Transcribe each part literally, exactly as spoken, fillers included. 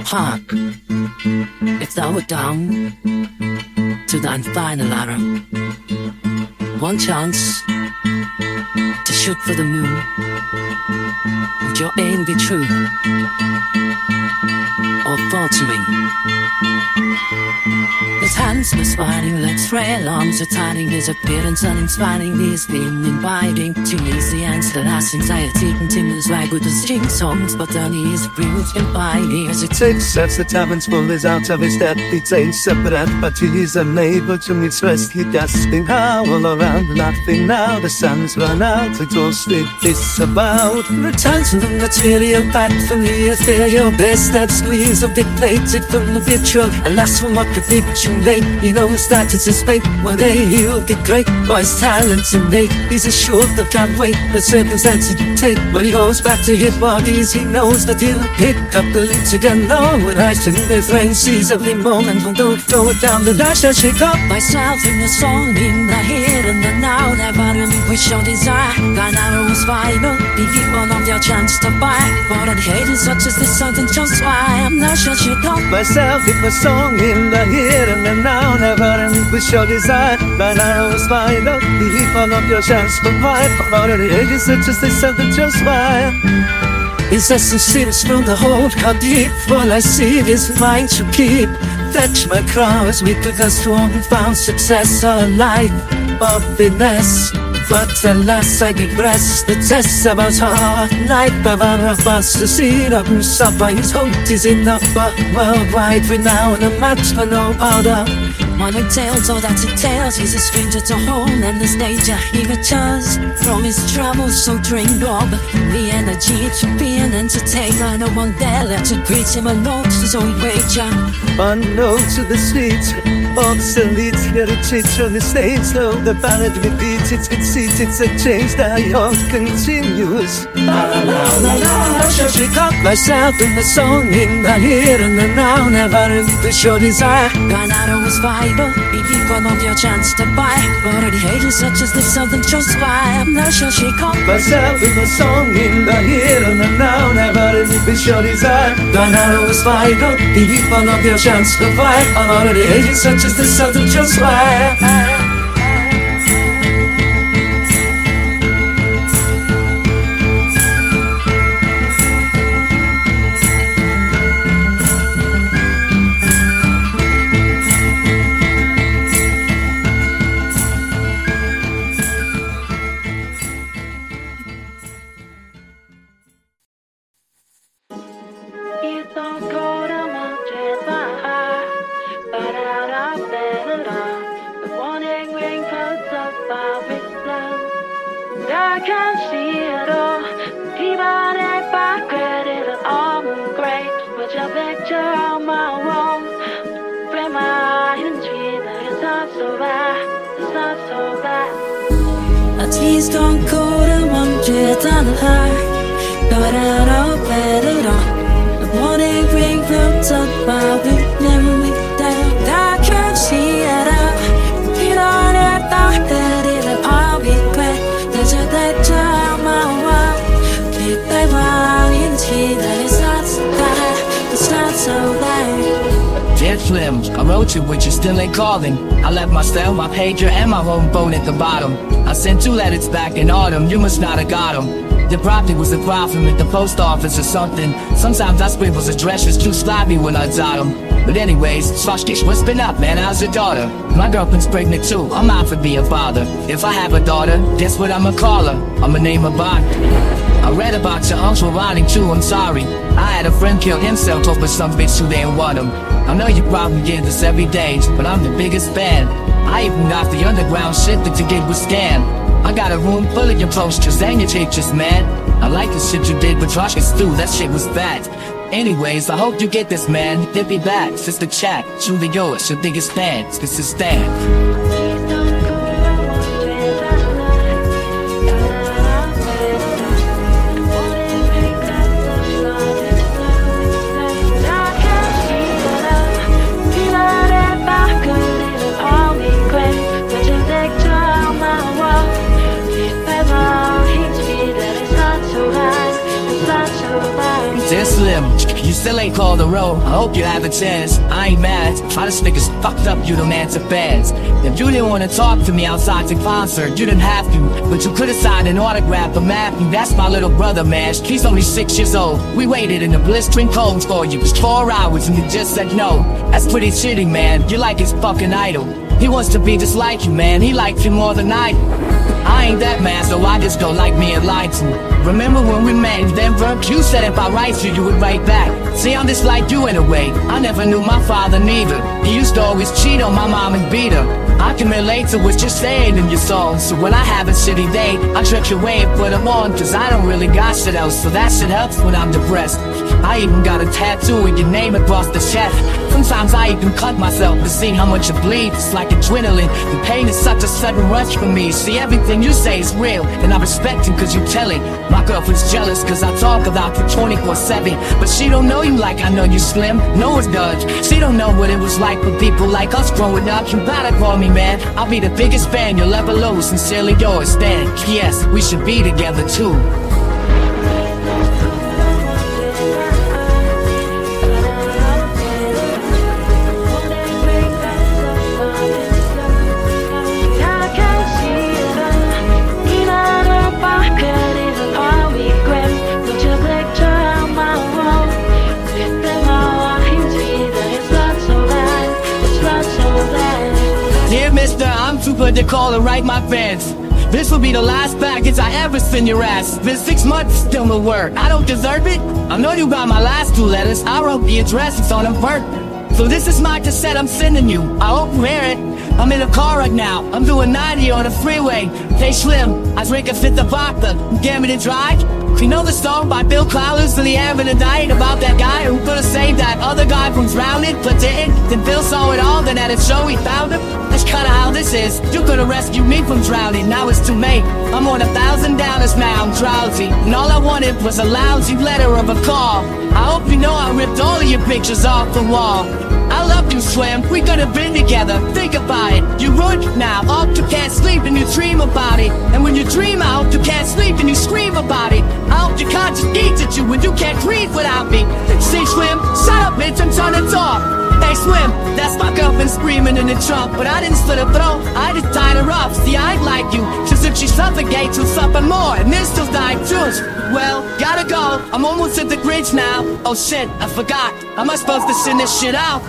heart. If thou were down to thine final arrow, one chance to shoot for the moon, would your aim be true or faltering? His hands were smiling like frail arms returning, his appearance uninspiring, he's been inviting to ease the answer as anxiety continues like with the string songs, but on his bruised and fine as it takes as the tavern's full is out of his death. He takes separate, but he is unable to express. He gasping howl around, laughing now. The sun's run out, exhausted, disavowed. Returns from the material back from the ethereal best that squeeze of dictated from the virtual. Alas, from what could be too late, he knows that it's his fate. One day he'll get great, for his talents innate. He's assured that can't wait, the circumstances dictate. When he goes back to his bodies, he knows that he'll pick up the leads again. No, when I sing this rain, sees every moment, and don't throw it down the dash. I shake up myself in the song, in the here and the now. Never relinquish your desire. Thine arrow is final, be one of your chance to buy. But I'd hate it such as this, something just why I'm not sure shake up myself in the song, in the here and the now. Never relinquish your desire. Thine arrow is final, be one of your chance to buy. But I'd hate it such as this, something just why. His essence seems from the hold, how deep. All I see is mine to keep. Fetch my crows, we could have sworn we found success or life or finesse. But alas, I digress. The test about hard life of us to see the suffer. His hope is enough, but worldwide renown, a match for no other. One entails all that entails. He's a stranger to home and this danger he returns from his travels, so drained of the energy to be an entertainer. No one there left to greet him alone, so he wager unknown to the streets. Obsolete heritage on the stage, slow the ballad repeats. It's conceit, it's a change that all continues. La la la la la. I shall shake up myself in the song, in the here and the now. Never relinquish your desire. Thine arrow is vital, be one of your chance to buy. Already hated such as this, something just why I'm not sure shake up myself in the song, in the here and the now. Never relinquish your desire. Thine arrow is vital, be one of your chance to buy. I'm already hated such as this, something just why. I wrote you, but you still ain't calling. I left my cell, my pager, and my home phone at the bottom. I sent two letters back in autumn, you must not have got them. There probably was a problem at the post office or something. Sometimes I scribble addresses too sloppy when I dot them. But anyways, Swashkish, what's been up, man? How's your daughter? My girlfriend's pregnant too, I'm out for being a father. If I have a daughter, guess what I'ma call her? I'ma name her Bond. I read about your uncle rotting too, I'm sorry. I had a friend kill himself over some bitch who didn't want him. I know you probably get this every day, but I'm the biggest fan. I even got the underground shit that you did was scam. I got a room full of your posters and your pictures, man. I like the shit you did with Joshua Stew, that shit was bad. Anyways, I hope you get this, man. Hit me back, sister chat, truly yours, your biggest fans. This is Stan. Slim, you still ain't called a row. I hope you have a chance. I ain't mad. I just think it's fucked up you don't answer fans. If you didn't want to talk to me outside the concert, you didn't have to, but you could've signed an autograph for Matthew. That's my little brother, man. He's only six years old. We waited in the blistering cold for you. It's four hours and you just said no. That's pretty shitty, man. You're like his fucking idol. He wants to be just like you, man. He likes you more than I do. I ain't that man, so I just don't like being lied to. Remember when we met in Denver? You said if I write you, you would write back. See, I'm just like you in a way. I never knew my father neither. He used to always cheat on my mom and beat her. I can relate to what you're saying in your songs. So when I have a shitty day, I trick away and put them on. Cause I don't really got shit else, so that shit helps when I'm depressed. I even got a tattoo with your name across the chest. Sometimes I even cut myself to see how much it bleeds. It's like adrenaline. The pain is such a sudden rush for me. See, everything you say is real, and I respect it cause you tell it. My girlfriend's jealous cause I talk about you twenty-four seven. But she don't know you like I know you, Slim. No one does. She don't know what it was like for people like us growing up. You better call me, man. I'll be the biggest fan you'll ever lose. Sincerely yours, Stan. Yes, we should be together too. Dear mister, I'm too good to call and write my fans. This will be the last package I ever send your ass. Been six months, still no word. I don't deserve it. I know you got my last two letters. I wrote the address, it's on them burnt. So this is my cassette I'm sending you. I hope you hear it. I'm in a car right now. I'm doing ninety on the freeway. Hey Slim, I drink a fifth of vodka. You get me to drive? You know the song by Bill Cowles in the air of the night about that guy who could've saved that other guy from drowning, but didn't? Then Bill saw it all, then at a show he found him. That's kinda how this is. You could've rescued me from drowning, now it's too late. I'm on a thousand dollars now, I'm drowsy, and all I wanted was a lousy letter of a call. I hope you know I ripped all of your pictures off the wall. I love you, Slim, we could have been together. Think about it, you ruined it now. Up, you can't sleep and you dream about it. And when you dream out, you can't sleep and you scream about it. I hope your conscience eats at you when you can't breathe without me. See, Slim, shut up, bitch, and turn it off. Hey, Slim, that's my girlfriend screaming in the trunk. But I didn't slit her throat, I just tied her up. See, I ain't like you, just if she suffocates, she'll suffer more. And then she'll die too. Well, gotta go, I'm almost at the bridge now. Oh shit, I forgot, am I supposed to send this shit out?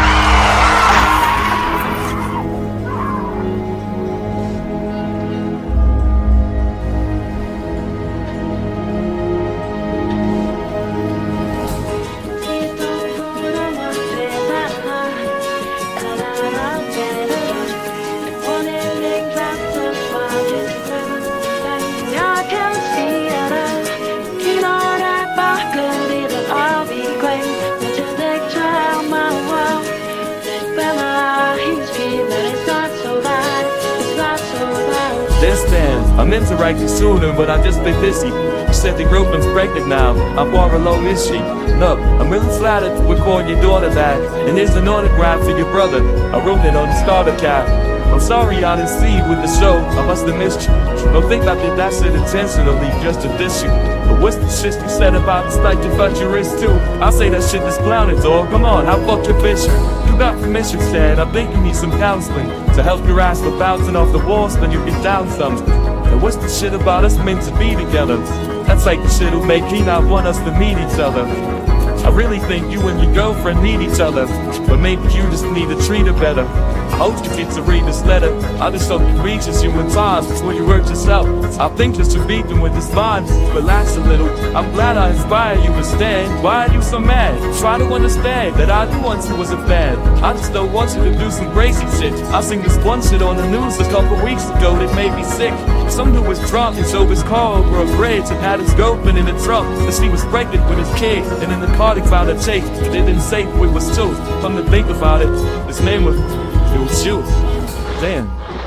I meant to write you sooner, but I've just been busy. You said the girlfriend's pregnant now. How far along is she? Look, I'm really flattered to record your daughter that. And here's an autograph for your brother. I wrote it on the starter cap. I'm sorry I didn't see you with the show. I must have missed you. Don't think I did that shit intentionally just to diss you. But what's the shit you said about the like you cut your wrist too? I say that shit is clowning, dog. Come on, how fuck your bitch? You got permission, said. I think you need some counseling to help your ass with bouncing off the walls, then you get down some. And what's the shit about us meant to be together? That's like the shit who make he not want us to meet each other. I really think you and your girlfriend need each other, but maybe you just need to treat her better. I hope you get to read this letter. I just hope it reaches you in time before you hurt yourself. I think that you're beating with this mind. Relax a little. I'm glad I inspired you to stand. Why are you so mad? Try to understand that I do want you as a fan. I just don't want you to do some crazy shit. I seen this one shit on the news a couple weeks ago that made me sick. Some dude was drunk and drove his car over a bridge and had his girlfriend in the trunk. And she was pregnant with his kid. And in the car they found a tape. They didn't say who it was to. Come to think about it, his name was... It was you. Damn.